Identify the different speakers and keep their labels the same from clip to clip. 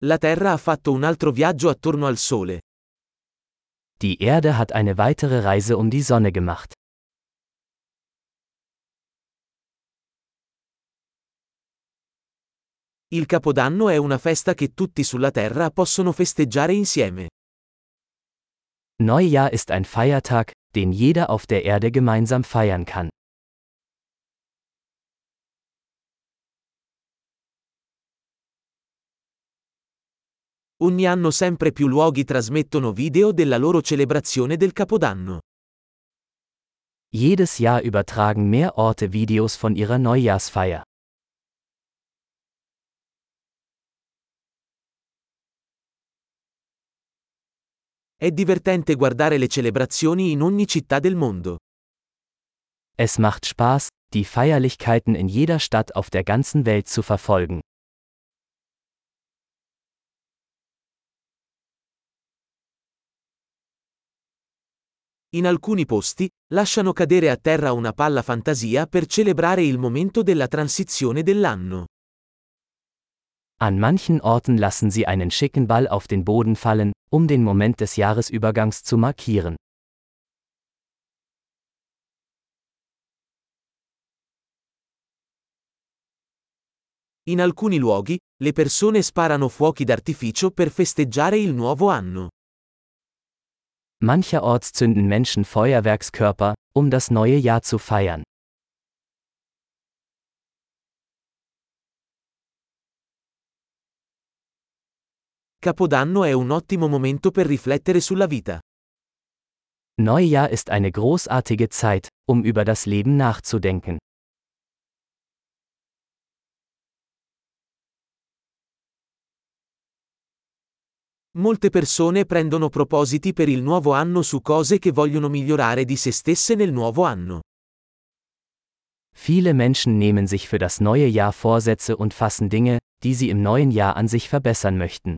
Speaker 1: La Terra ha fatto un altro viaggio attorno al Sole.
Speaker 2: Die Erde hat eine weitere Reise um die Sonne gemacht.
Speaker 1: Il Capodanno è una festa che tutti sulla Terra possono festeggiare insieme.
Speaker 2: Neujahr ist ein Feiertag, den jeder auf der Erde gemeinsam feiern kann.
Speaker 1: Ogni anno sempre più luoghi trasmettono video della loro celebrazione del Capodanno.
Speaker 2: Jedes Jahr übertragen mehr Orte Videos von ihrer Neujahrsfeier.
Speaker 1: È divertente guardare le celebrazioni in ogni città del mondo.
Speaker 2: Es macht Spaß, die Feierlichkeiten in jeder Stadt auf der ganzen Welt zu verfolgen.
Speaker 1: In alcuni posti, lasciano cadere a terra una palla fantasia per celebrare il momento della transizione dell'anno.
Speaker 2: An manchen Orten lassen sie einen schicken Ball auf den Boden fallen, um den Moment des Jahresübergangs zu markieren.
Speaker 1: In alcuni luoghi, le persone sparano fuochi d'artificio per festeggiare il nuovo anno.
Speaker 2: Mancherorts zünden Menschen Feuerwerkskörper, um das neue Jahr zu feiern.
Speaker 1: Capodanno è un ottimo momento per riflettere sulla vita.
Speaker 2: Neujahr ist eine großartige Zeit, um über das Leben nachzudenken.
Speaker 1: Molte persone prendono propositi per il nuovo anno su cose che vogliono migliorare di se stesse nel nuovo anno.
Speaker 2: Viele Menschen nehmen sich für das neue Jahr Vorsätze und fassen Dinge, die sie im neuen Jahr an sich verbessern möchten.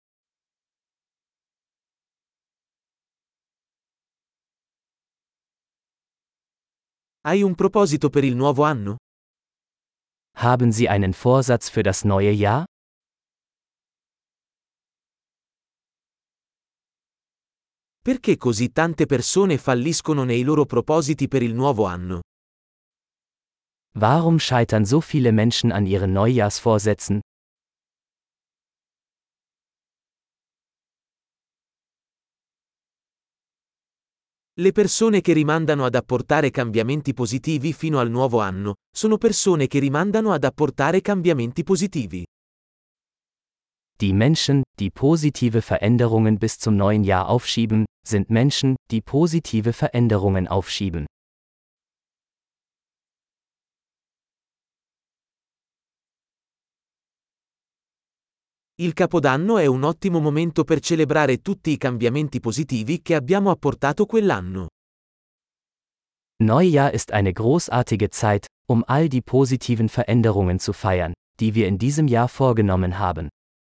Speaker 1: Hai un proposito per il nuovo anno?
Speaker 2: Haben Sie einen Vorsatz für das neue Jahr?
Speaker 1: Perché così tante persone falliscono nei loro propositi per il nuovo anno?
Speaker 2: Warum scheitern so viele Menschen an ihren Neujahrsvorsätzen?
Speaker 1: Le persone che rimandano ad apportare cambiamenti positivi fino al nuovo anno, sono persone che rimandano ad apportare cambiamenti positivi.
Speaker 2: Die Menschen, die positive Veränderungen bis zum neuen Jahr aufschieben, sind Menschen, die positive Veränderungen aufschieben.
Speaker 1: Il Capodanno è un ottimo momento per celebrare tutti i cambiamenti positivi che abbiamo apportato quell'anno.
Speaker 2: Neujahr ist eine großartige Zeit, um all die positiven Veränderungen zu feiern, die wir in diesem Jahr vorgenommen haben.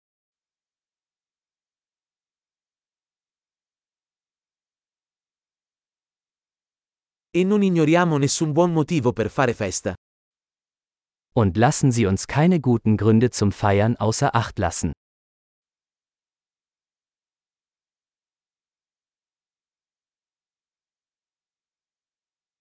Speaker 1: E non ignoriamo nessun buon motivo per fare festa.
Speaker 2: Und lassen Sie uns keine guten Gründe zum Feiern außer Acht lassen.